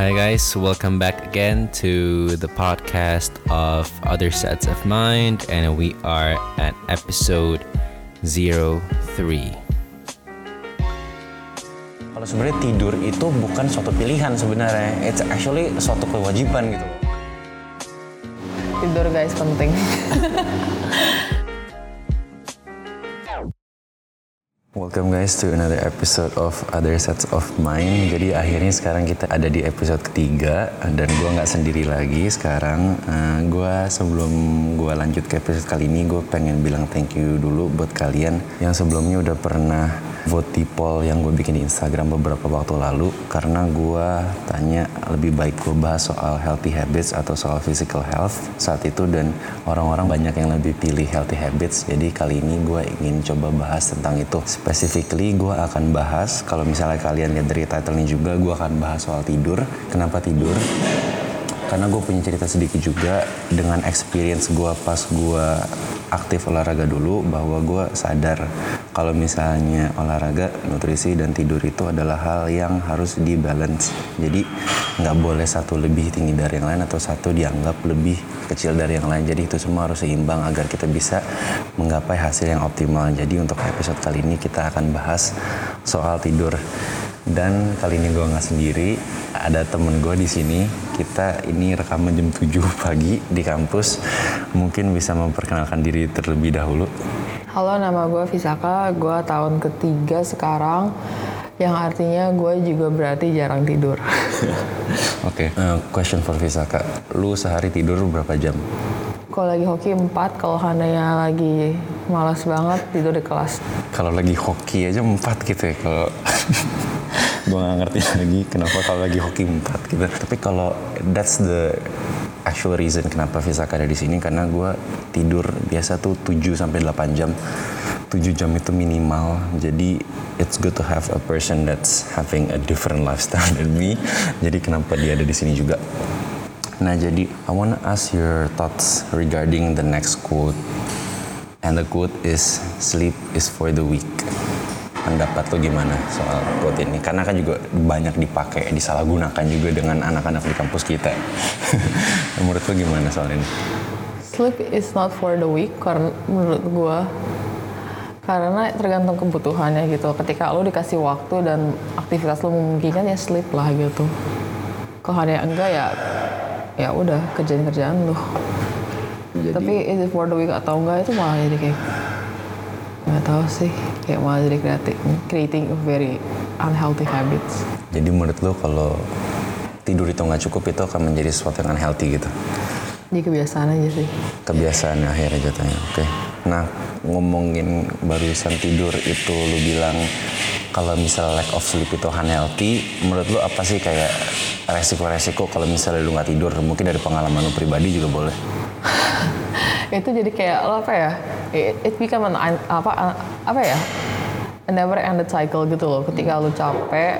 Hi guys, welcome back again to the podcast of Other Sets of Mind, and we are at episode 03. Kalau sebenarnya tidur itu bukan suatu pilihan sebenarnya, it's actually suatu kewajiban gitu. Tidur guys penting. Welcome guys to another episode of Other Sets of Mind. Jadi akhirnya sekarang kita ada di episode ketiga dan gue nggak sendiri lagi sekarang. Sebelum gue lanjut ke episode kali ini, gue pengen bilang thank you dulu buat kalian yang sebelumnya udah pernah vote di poll yang gue bikin di Instagram beberapa waktu lalu, karena gue tanya lebih baik gue bahas soal healthy habits atau soal physical health saat itu, dan orang-orang banyak yang lebih pilih healthy habits. Jadi kali ini gue ingin coba bahas tentang itu. Specifically gue akan bahas, kalau misalnya kalian lihat dari title-nya juga, gue akan bahas soal tidur. Kenapa tidur? Karena gue punya cerita sedikit juga dengan experience gue pas gue aktif olahraga dulu, bahwa gue sadar kalau misalnya olahraga, nutrisi, dan tidur itu adalah hal yang harus dibalance. Jadi nggak boleh satu lebih tinggi dari yang lain atau satu dianggap lebih kecil dari yang lain. Jadi itu semua harus seimbang agar kita bisa menggapai hasil yang optimal. Jadi untuk episode kali ini kita akan bahas soal tidur. Dan kali ini gue nggak sendiri, ada temen gue di sini. Kita ini rekaman jam 7 pagi di kampus. Mungkin bisa memperkenalkan diri terlebih dahulu. Halo, nama gue Visaka, gue tahun ketiga sekarang, yang artinya gue juga berarti jarang tidur. Oke. Question for Visaka, lu sehari tidur berapa jam? Kalau lagi hoki 4, kalau handanya lagi malas banget tidur di kelas. Kalau lagi hoki aja 4 gitu ya, kalau gue gak ngerti lagi kenapa kalau lagi hoki 4 gitu. Tapi kalau that's the actual reason kenapa Visaka ada di sini, karena gue tidur biasa tuh 7-8 jam. 7 jam itu minimal. Jadi it's good to have a person that's having a different lifestyle than me. Jadi kenapa dia ada di sini juga. Nah, jadi I wanna ask your thoughts regarding the next quote. And the quote is, sleep is for the weak. Pendapat lo gimana soal quote ini? Karena kan juga banyak dipakai, disalahgunakan juga dengan anak-anak di kampus kita. Menurut lo gimana soal ini? Sleep is not for the weak, karena menurut gue, karena tergantung kebutuhannya gitu. Ketika lo dikasih waktu dan aktivitas lo memungkinkan, ya sleep lah gitu. Kalau hanya enggak, ya udah kerjaan lo. Tapi is it for the weak atau enggak, itu malah jadi kayak nggak tahu sih, kayak malah jadi creating a very unhealthy habits. Jadi menurut lo kalau tidur itu nggak cukup, itu akan menjadi sesuatu yang unhealthy gitu? Jadi kebiasaan aja sih. Kebiasaan akhirnya jatuhnya. Oke. Nah, ngomongin barusan tidur itu, lo bilang kalau misalnya lack of sleep itu unhealthy. Menurut lo apa sih kayak resiko-resiko kalau misalnya lo nggak tidur? Mungkin dari pengalaman lo pribadi juga boleh. Itu jadi kayak apa ya? It become a never ended cycle gitu loh. Ketika lu capek,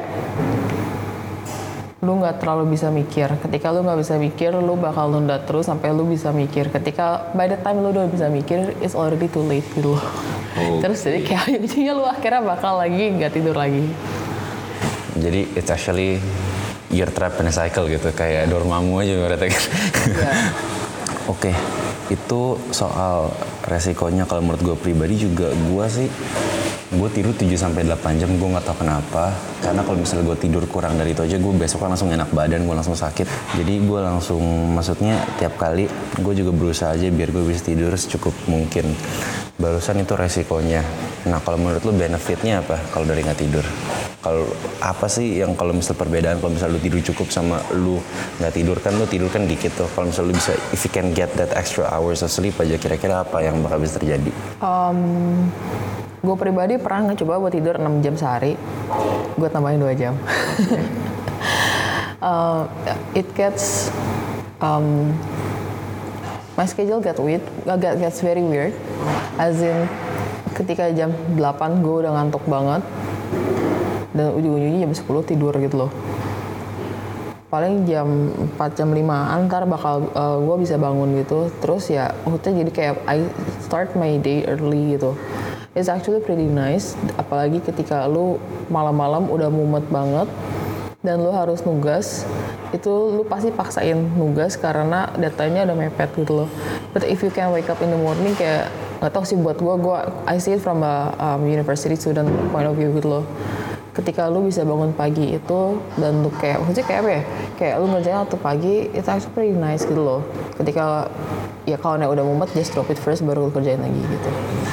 lu nggak terlalu bisa mikir. Ketika lu nggak bisa mikir, lu bakal nunda terus sampai lu bisa mikir. Ketika by the time lu udah bisa mikir, it's already too late gitu loh. Terus jadi kayak jadinya lu akhirnya bakal lagi nggak tidur lagi. Jadi it's actually you're trapped in a cycle gitu, kayak Dormammu aja berarti. Oke. Itu soal resikonya. Kalau menurut gue pribadi juga, gue tidur 7-8 jam, gue nggak tahu kenapa. Karena kalau misalnya gue tidur kurang dari itu aja, gue besok langsung enak badan, gue langsung sakit. Jadi gue langsung, maksudnya tiap kali gue juga berusaha aja biar gue bisa tidur secukup mungkin. Barusan itu resikonya. Nah, kalau menurut lu benefitnya apa kalau dari nggak tidur? Kalau apa sih yang kalau misal perbedaan kalau misal lu tidur cukup sama lu nggak tidur? Kan lu tidur kan dikit tuh. Kalau misal lu bisa, if you can get that extra hours of sleep aja, kira-kira apa yang bakal bisa terjadi? Gue pribadi pernah ngecoba buat tidur 6 jam sehari. Gue tambahin 2 jam. It gets my schedule gets very weird. As in, ketika jam 8 gue udah ngantuk banget. Dan ujung-ujungnya jam 10 tidur gitu loh. Paling jam 4, jam 5 ntar bakal gue bisa bangun gitu. Terus ya maksudnya jadi kayak I start my day early gitu. It's actually pretty nice. Apalagi ketika lu malam-malam udah mumet banget dan lu harus nugas. itu lu pasti paksain nugas karena deadline-nya udah mepet gitu loh. But if you can wake up in the morning, kayak nggak tahu sih buat gue I see it from a university student point of view gitu loh. Ketika lu bisa bangun pagi itu dan lu kayak maksudnya kayak apa ya, kayak lu ngerjain waktu pagi, itu actually pretty nice gitu loh. Ketika ya kalau udah mumet, just drop it first baru lu kerjain lagi gitu.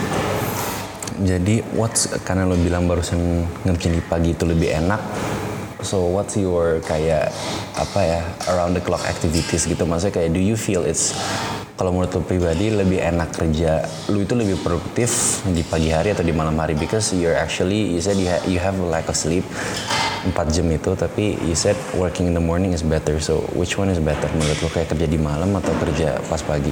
Jadi karena lo bilang barusan ngerjain di pagi itu lebih enak, so what's your kayak apa ya around the clock activities gitu, maksudnya kayak do you feel it's, kalau menurut lo pribadi lebih enak kerja lu itu lebih produktif di pagi hari atau di malam hari, because you're actually, you said you have a lack of sleep 4 jam itu, tapi you said working in the morning is better, so which one is better menurut lo, kayak kerja di malam atau kerja pas pagi?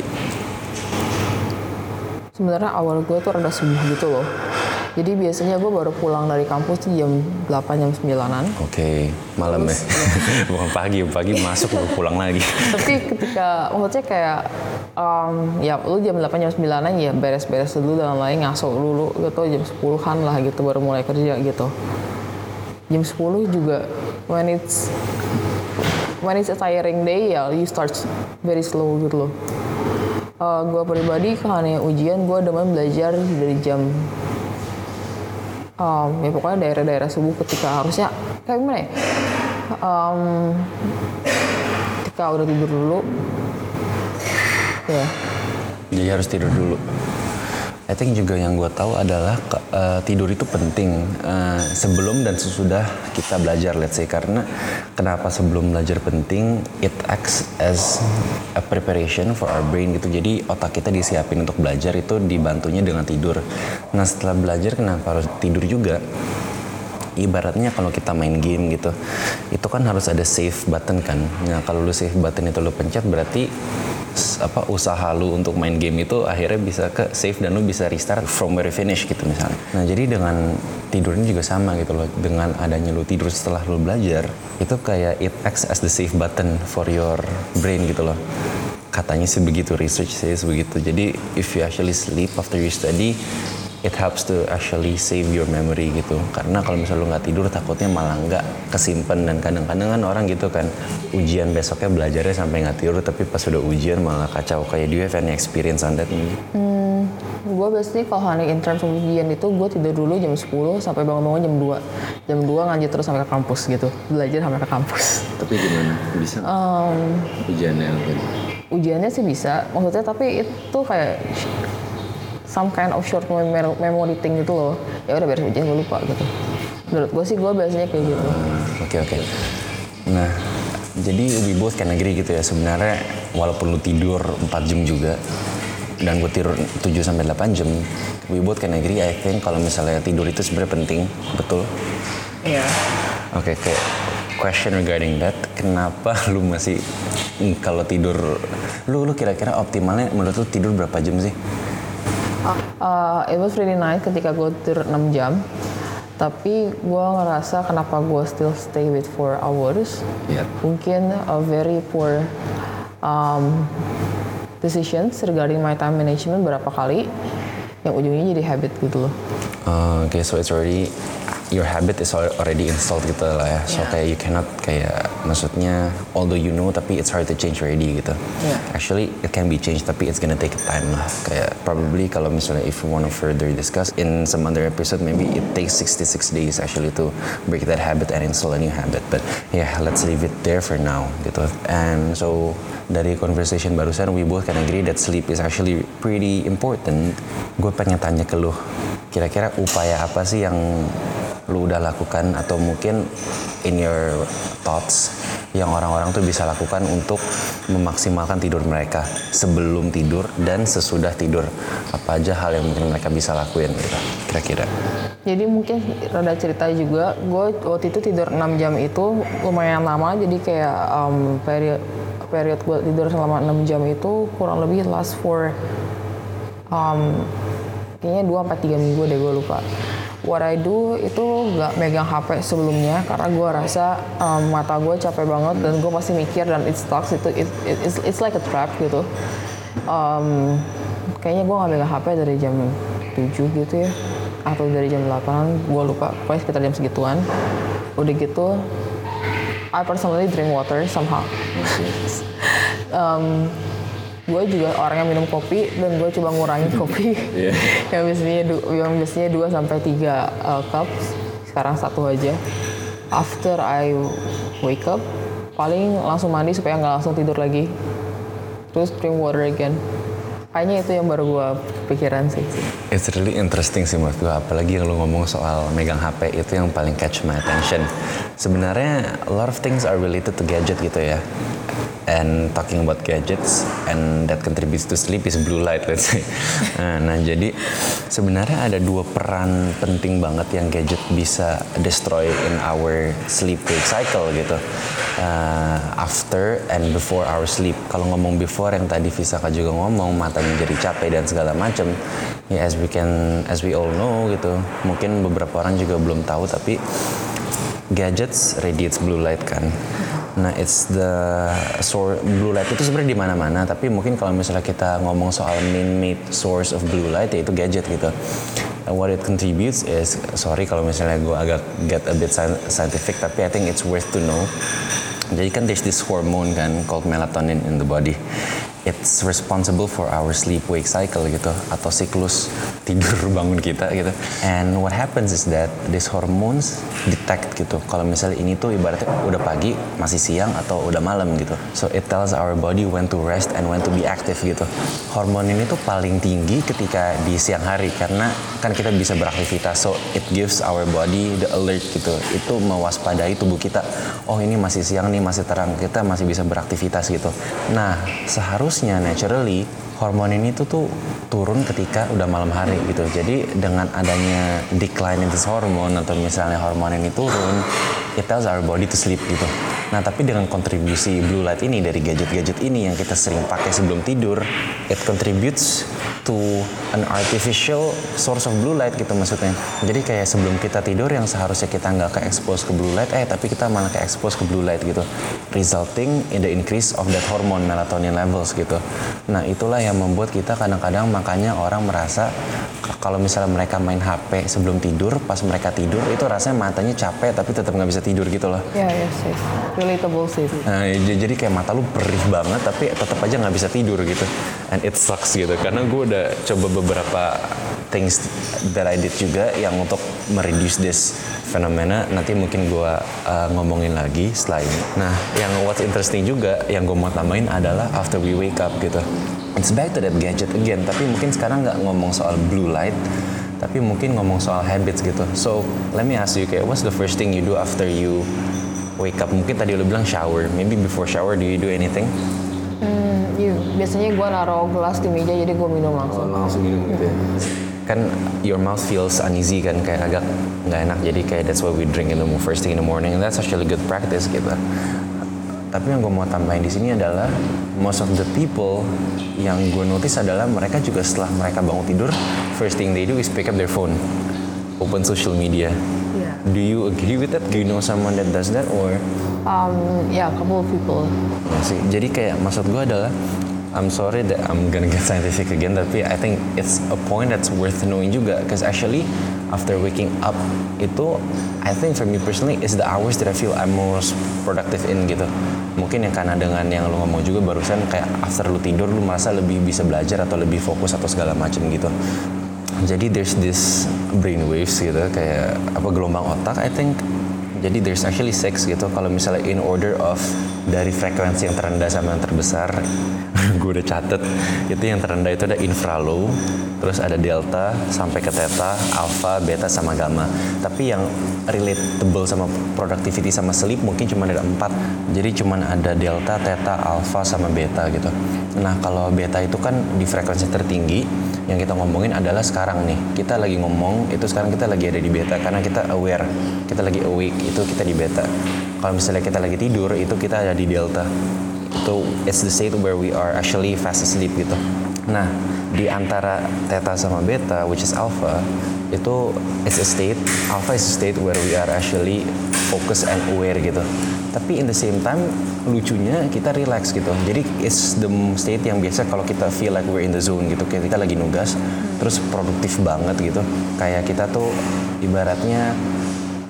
Sebenarnya awal gue tuh rada subuh gitu loh. Jadi biasanya gue baru pulang dari kampus tuh jam 8, jam 9-an. Oke, malam ya? Bukan pagi masuk baru pulang lagi. Tapi ketika, maksudnya kayak, ya lu jam 8, jam 9-an ya beres-beres dulu dan lain ngaso dulu gitu, jam 10-an lah gitu baru mulai kerja gitu. Jam 10 juga, when it's a tiring day ya you start very slow gitu loh. Gue pribadi karena ujian gue demen belajar dari jam ya pokoknya daerah-daerah subuh, ketika harusnya kayak gimana ya, ketika udah tidur dulu ya. Jadi harus tidur dulu. I think juga yang gue tahu adalah tidur itu penting sebelum dan sesudah kita belajar, let's say. Karena kenapa sebelum belajar penting? It acts as a preparation for our brain gitu. Jadi otak kita disiapin untuk belajar itu dibantunya dengan tidur. Nah setelah belajar kenapa harus tidur juga? Ibaratnya kalau kita main game gitu, itu kan harus ada save button kan. Nah kalau lu save button itu lu pencet, berarti usaha lu untuk main game itu akhirnya bisa ke save dan lu bisa restart from where you finish gitu misalnya. Nah jadi dengan tidur ini juga sama gitu loh. Dengan adanya lu tidur setelah lu belajar, itu kayak it acts as the save button for your brain gitu loh. Katanya sih begitu, research says begitu. Jadi if you actually sleep after you study, it helps to actually save your memory gitu. Karena kalau misalnya lu nggak tidur takutnya malah nggak kesimpan, dan kadang-kadang kan orang gitu kan ujian besoknya belajarnya sampai nggak tidur, tapi pas udah ujian malah kacau. Kayak do you have any experience on that? Gue biasanya kalau hari in terms of ujian itu gue tidur dulu jam 10 sampai bangun-bangun jam 2. Jam 2 ngaji terus sampai ke kampus gitu. Belajar sampai ke kampus. Tapi gimana? Bisa? Ujiannya apa? Ujiannya sih bisa, maksudnya tapi itu kayak some kind of short memory thing gitu loh. Ya udah beres ujian gue lupa gitu. Menurut gue sih gue biasanya kayak gitu. Oke. Nah, jadi we both can agree gitu ya, sebenarnya walaupun lu tidur 4 jam juga dan gue tidur 7-8 jam, we both can agree I think kalau misalnya tidur itu sebenarnya penting, betul? Iya. Oke, kayak question regarding that, kenapa lu masih kalau tidur, lu kira-kira optimalnya menurut lu tidur berapa jam sih? It was really nice ketika gue tidur 6 jam. Tapi gue ngerasa kenapa gue still stay with 4 hours. Yeah. Mungkin a very poor decisions regarding my time management berapa kali yang ujungnya jadi habit gitu loh. Okay, so it's already, your habit is already installed gitu lah ya. So kayak you cannot kayak, maksudnya although you know tapi it's hard to change already gitu. Yeah. Actually it can be changed tapi it's gonna take time lah. Kayak probably kalau misalnya if you want to further discuss in some other episode, maybe it takes 66 days actually to break that habit and install a new habit. But yeah, let's leave it there for now gitu. And so dari conversation barusan we both can agree that sleep is actually pretty important. Gue pengen tanya ke lu, kira-kira upaya apa sih yang lu udah lakukan atau mungkin in your thoughts yang orang-orang tuh bisa lakukan untuk memaksimalkan tidur mereka sebelum tidur dan sesudah tidur? Apa aja hal yang mungkin mereka bisa lakuin gitu kira-kira? Jadi mungkin rada cerita juga, gue waktu itu tidur 6 jam itu lumayan lama, jadi kayak period gue tidur selama 6 jam itu kurang lebih last for kayaknya 2-3 minggu deh, gue lupa. What I do itu nggak megang HP sebelumnya karena gue rasa mata gue capek banget dan gue pasti mikir dan it stuck itu it's like a trap gitu. Kayaknya gue nggak megang HP dari jam 7 gitu ya atau dari jam 8, gue lupa, pokoknya sekitar jam segituan. Udah gitu I personally drink water somehow. Gue juga orang yang minum kopi dan gue coba ngurangin kopi yang biasanya 2 sampai 3 cup, sekarang 1 aja. After I wake up paling langsung mandi supaya nggak langsung tidur lagi, terus drink water again. Kayaknya itu yang baru gue pikiran sih. It's really interesting sih menurut gue, apalagi yang lu ngomong soal megang HP itu yang paling catch my attention. Sebenarnya a lot of things are related to gadget gitu ya. And talking about gadgets and that contributes to sleep is blue light, let's say. Nah, jadi sebenarnya ada 2 peran penting banget yang gadget bisa destroy in our sleep wake cycle gitu. After and before our sleep. Kalau ngomong before yang tadi Visaka juga ngomong, matanya jadi capek dan segala macam. Ya as we all know gitu. Mungkin beberapa orang juga belum tahu, tapi gadgets radiates blue light kan. Nah, it's the blue light itu sebenarnya di mana-mana, tapi mungkin kalau misalnya kita ngomong soal man-made source of blue light, yaitu gadget gitu. What it contributes is, sorry kalau misalnya gue agak get a bit scientific, tapi I think it's worth to know. Jadi kan there's this hormone kan called melatonin in the body. It's responsible for our sleep-wake cycle gitu, atau siklus tidur bangun kita gitu. And what happens is that these hormones detect gitu, kalau misalnya ini tuh ibaratnya udah pagi, masih siang, atau udah malam gitu. So it tells our body when to rest and when to be active gitu. Hormon ini tuh paling tinggi ketika di siang hari, karena kan kita bisa beraktivitas. So it gives our body the alert gitu. Itu mewaspadai tubuh kita. Oh, ini masih siang nih, masih terang, kita masih bisa beraktivitas gitu. Nah, seharusnya naturally hormon ini tuh turun ketika udah malam hari gitu. Jadi dengan adanya decline in this hormone, atau misalnya hormon ini turun, it tells our body to sleep gitu. Nah, tapi dengan kontribusi blue light ini dari gadget-gadget ini yang kita sering pakai sebelum tidur, it contributes to an artificial source of blue light gitu maksudnya. Jadi kayak sebelum kita tidur yang seharusnya kita nggak ke-expose ke blue light, tapi kita malah ke-expose ke blue light gitu, resulting in the increase of that hormone melatonin levels gitu. Nah, itulah yang membuat kita kadang-kadang, makanya orang merasa kalau misalnya mereka main HP sebelum tidur, pas mereka tidur itu rasanya matanya capek tapi tetap nggak bisa tidur gitu loh. Ya, sih. Relatable sih. Nah, jadi kayak mata lu perih banget tapi tetap aja nggak bisa tidur gitu. And it sucks gitu, karena gue udah coba beberapa things that I did juga yang untuk mereduce this fenomena. Nanti mungkin gue ngomongin lagi setelah ini. Nah, yang what's interesting juga yang gue mau tambahin adalah after we wake up gitu. It's back to that gadget again, tapi mungkin sekarang nggak ngomong soal blue light, tapi mungkin ngomong soal habits gitu. So, let me ask you, kayak what's the first thing you do after you wake up? Mungkin tadi lu bilang shower, maybe before shower do you do anything? Biasanya gue naruh gelas di meja, jadi gue minum langsung. Langsung minum gitu ya? Kan your mouth feels uneasy kan, kayak agak nggak enak, jadi kayak that's why we drink in the first thing in the morning, and that's actually good practice gitu. Tapi yang gue mau tambahin di sini adalah most of the people yang gue notice adalah mereka juga setelah mereka bangun tidur, first thing they do is pick up their phone, open social media. Yeah. Do you agree with that? Do you know someone that does that or? A couple of people. Ya sih. Jadi kayak maksud gue adalah, I'm sorry that I'm gonna get scientific again, tapi I think it's a point that's worth knowing juga, because actually after waking up itu, I think for me personally is the hours that I feel I'm most productive in gitu. Mungkin yang karena dengan yang lu ngomong juga barusan, kayak after lu tidur lu merasa lebih bisa belajar atau lebih fokus atau segala macam gitu. Jadi there's this brain waves gitu, kayak gelombang otak I think. Jadi there's actually 6 gitu, kalau misalnya in order of dari frekuensi yang terendah sama yang terbesar. Gue udah catet, itu yang terendah itu ada infralow, terus ada delta sampai ke theta, alpha, beta sama gamma. Tapi yang relatable sama productivity sama sleep mungkin cuma ada 4. Jadi cuma ada delta, theta, alpha sama beta gitu. Nah, kalau beta itu kan di frekuensi tertinggi. Yang kita ngomongin adalah sekarang nih, kita lagi ngomong itu sekarang kita lagi ada di beta karena kita aware, kita lagi awake, itu kita di beta. Kalau misalnya kita lagi tidur itu kita ada di delta. Itu it's the state where we are actually fast asleep gitu. Nah, di antara theta sama beta, which is alpha, itu it's a state, alpha is a state where we are actually focus and aware gitu. Tapi in the same time, lucunya kita relax gitu. Jadi it's the state yang biasa kalau kita feel like we're in the zone gitu. Kayak kita lagi nugas, terus produktif banget gitu. Kayak kita tuh ibaratnya,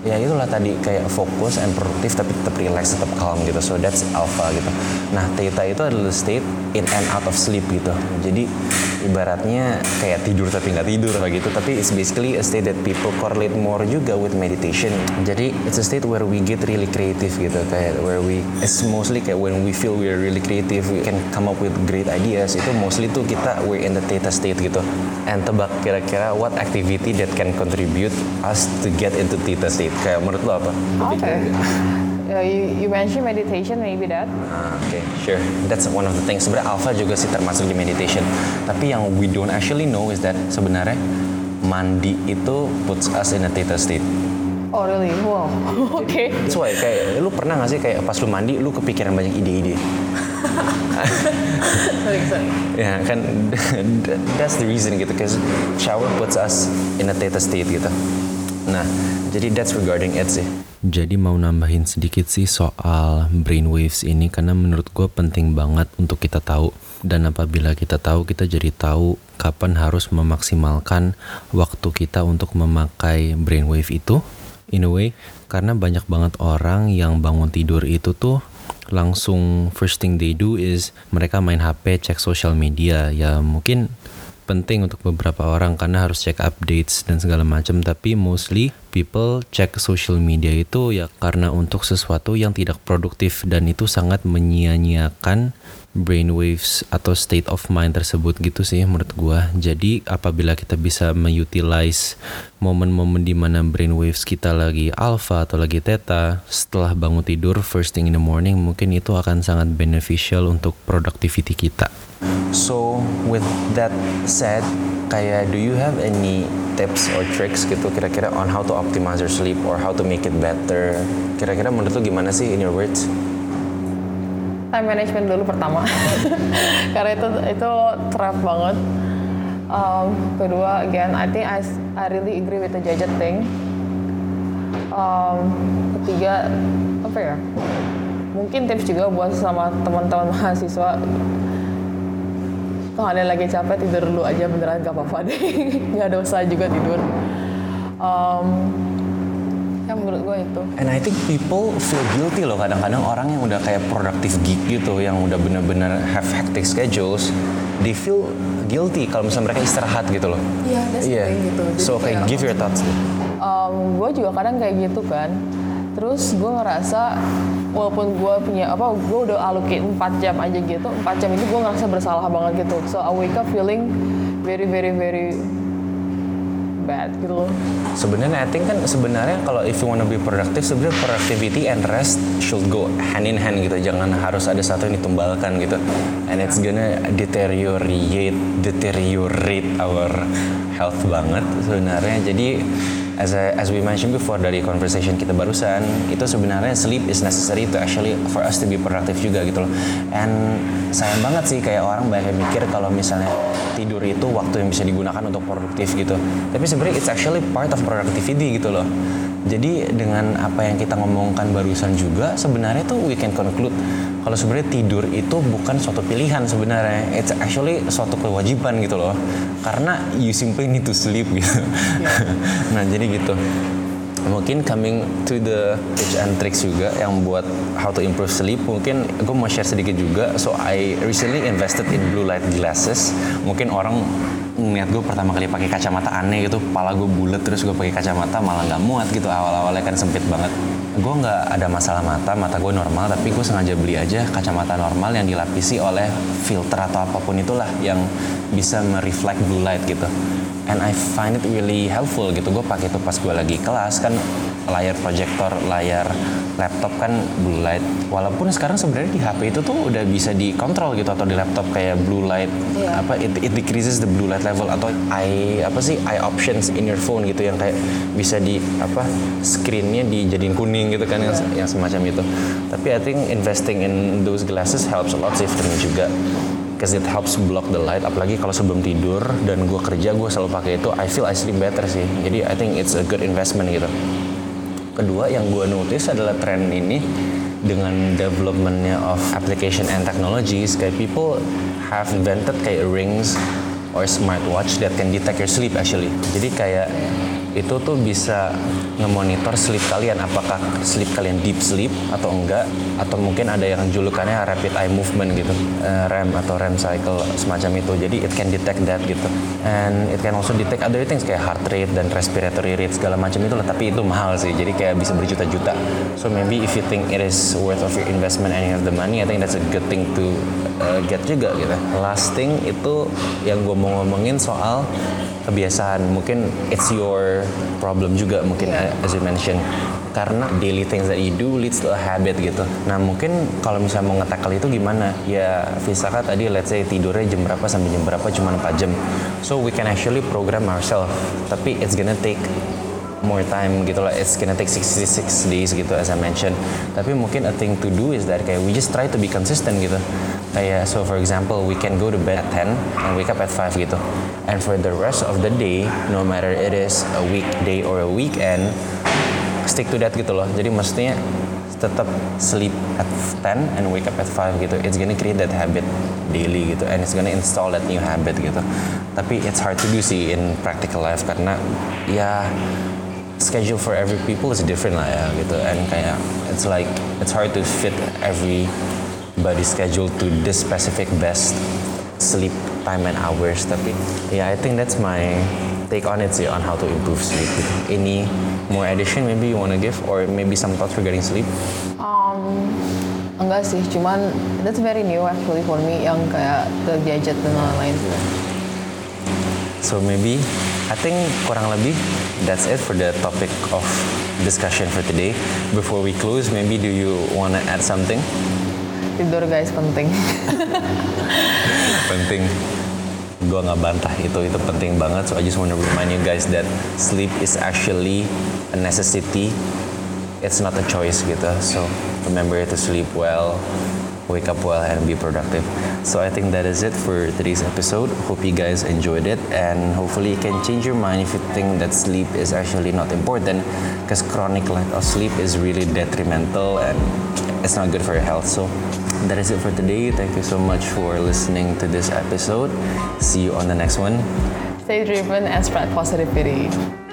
ya itulah tadi kayak fokus and produktif tapi tetap relax, tetap calm gitu. So that's alpha gitu. Nah theta itu adalah state in and out of sleep gitu. Jadi ibaratnya kayak tidur tapi nggak tidur gitu. Tapi it's basically a state that people correlate more juga with meditation. Jadi it's a state where we get really creative gitu. Kayak where it's mostly kayak when we feel we're really creative, we can come up with great ideas. Itu mostly tuh we're in the theta state gitu. And tebak kira-kira what activity that can contribute us to get into theta state? Kayak menurut lo apa? Okay. You mentioned meditation, maybe that. Okay, sure. That's one of the things. Sebenarnya alpha juga sih termasuk di meditation. Tapi yang we don't actually know is that sebenarnya mandi itu puts us in a theta state. Oh really? Wow. Okay. That's why kayak lu pernah nggak sih kayak pas lu mandi lu kepikiran banyak ide-ide? Sorry. Ya kan, that's the reason gitu. Cause shower puts us in a theta state gitu. Nah, jadi that's regarding it sih. Jadi mau nambahin sedikit sih soal brainwaves ini karena menurut gue penting banget untuk kita tahu. Dan apabila kita tahu, kita jadi tahu kapan harus memaksimalkan waktu kita untuk memakai brainwave itu. In a way, karena banyak banget orang yang bangun tidur itu tuh langsung first thing they do is mereka main HP, cek social media. Ya mungkin penting untuk beberapa orang karena harus cek updates dan segala macam, tapi mostly people cek social media itu ya karena untuk sesuatu yang tidak produktif dan itu sangat menyia-nyiakan brainwaves atau state of mind tersebut gitu sih menurut gua. Jadi apabila kita bisa mengutilize momen-momen di mana brainwaves kita lagi alpha atau lagi theta setelah bangun tidur first thing in the morning, mungkin itu akan sangat beneficial untuk productivity kita. So with that said, kayak do you have any tips or tricks gitu kira-kira on how to optimize your sleep or how to make it better? Kira-kira menurut lu gimana sih in your words? Time management dulu pertama. Karena itu trap banget. Kedua, again, I think I really agree with the gadget thing. Ketiga, apa ya? Mungkin tips juga buat sama teman-teman mahasiswa. Kalau kalian lagi capek tidur dulu aja, beneran gak apa-apa deh. Gak dosa juga tidur. Ya menurut gue itu. And I think people feel guilty loh kadang-kadang orang yang udah kayak productive geek gitu, yang udah bener-bener have hectic schedules, they feel guilty kalau misalnya mereka istirahat gitu loh. Iya, that's the thing gitu. Jadi So kayak give your thoughts deh. Gue juga kadang kayak gitu kan. Terus gue ngerasa walaupun gue udah allocate 4 jam aja gitu, 4 jam itu gue ngerasa bersalah banget gitu. So I wake up feeling very very very bad gitu loh. Sebenarnya I think kan sebenarnya kalau if you wanna be productive, sebenarnya productivity and rest should go hand in hand gitu. Jangan harus ada satu yang ditumbalkan gitu. And it's gonna deteriorate our health banget sebenarnya. Jadi as we mentioned before dari conversation kita barusan, itu sebenarnya sleep is necessary to actually for us to be productive juga gitu loh. And sayang banget sih kayak orang banyak yang mikir kalau misalnya tidur itu waktu yang bisa digunakan untuk produktif gitu. Tapi sebenarnya it's actually part of productivity gitu loh. Jadi dengan apa yang kita ngomongkan barusan juga sebenarnya tuh we can conclude kalau sebenarnya tidur itu bukan suatu pilihan sebenarnya, it's actually suatu kewajiban gitu loh. Karena you simply need to sleep gitu. Yeah. Nah jadi gitu. Mungkin coming to the tips and tricks juga yang buat how to improve sleep, mungkin gue mau share sedikit juga. So I recently invested in blue light glasses. Mungkin orang ngeliat gue pertama kali pakai kacamata aneh gitu, kepala gue bulat terus gue pakai kacamata malah nggak muat gitu, awal-awalnya kan sempit banget. Gue nggak ada masalah mata gue normal, tapi gue sengaja beli aja kacamata normal yang dilapisi oleh filter atau apapun itulah yang bisa mereflect blue light gitu. And I find it really helpful gitu. Gue pakai itu pas gue lagi kelas kan, layar proyektor, layar laptop kan blue light. Walaupun sekarang sebenarnya di HP itu tuh udah bisa dikontrol gitu, atau di laptop kayak blue light, it decreases the blue light level, atau eye options in your phone gitu yang kayak bisa di screennya dijadiin kuning gitu kan, yang semacam itu. Tapi I think investing in those glasses helps a lot sih for me juga. Because it helps block the light, apalagi kalau sebelum tidur dan gue kerja, gue selalu pakai itu. I feel I sleep better sih. Jadi I think it's a good investment gitu. Kedua yang gue notice adalah tren ini dengan developmentnya of application and technologies, kayak people have invented kayak rings or smartwatch that can detect your sleep actually. Jadi kayak itu tuh bisa ngemonitor sleep kalian, apakah sleep kalian deep sleep atau enggak, atau mungkin ada yang julukannya rapid eye movement gitu, REM atau REM cycle semacam itu. Jadi it can detect that gitu, and it can also detect other things kayak heart rate dan respiratory rate segala macam itu lah. Tapi itu mahal sih, jadi kayak bisa berjuta-juta. So maybe if you think it is worth of your investment and you have the money, I think that's a good thing to get juga gitu. Last thing itu yang gue mau ngomongin soal kebiasaan. Mungkin it's your problem juga mungkin, as you mentioned, karena daily things that you do leads to a habit gitu. Nah mungkin kalau misalnya mau nge-tackle itu gimana? Ya Visaka tadi let's say tidurnya jam berapa sampai jam berapa, cuma 4 jam. So we can actually program ourselves, tapi it's gonna take more time gitu lah. It's gonna take 66 days gitu as I mentioned. Tapi mungkin a thing to do is that kayak we just try to be consistent gitu. Kayak so for example we can go to bed at 10 and wake up at 5 gitu. And for the rest of the day, no matter it is a weekday or a weekend, stick to that gitu loh. Jadi maksudnya tetap sleep at 10 and wake up at 5 gitu. It's gonna create that habit daily gitu, and it's gonna install that new habit gitu. Tapi it's hard to do sih in practical life karena ya schedule for every people is different lah ya gitu, and kayak it's hard to fit everybody's schedule to this specific best sleep time and hours. Tapi I think that's my take on it sih, on how to improve sleep gitu. Any more addition maybe you wanna give, or maybe some thoughts regarding sleep? Enggak sih, cuman that's very new actually for me, yang kayak the gadget dan lain-lain. So maybe I think kurang lebih that's it for the topic of discussion for today. Before we close, maybe do you wanna add something? Tidur guys penting. Penting. Gue nggak bantah itu penting banget. So I just want to remind you guys that sleep is actually a necessity. It's not a choice gitu. So remember to sleep well, wake up well, and be productive. So I think that is it for today's episode. Hope you guys enjoyed it, and hopefully it can change your mind if you think that sleep is actually not important, because chronic lack of sleep is really detrimental and it's not good for your health. So that is it for today. Thank you so much for listening to this episode. See you on the next one. Stay driven and spread positivity.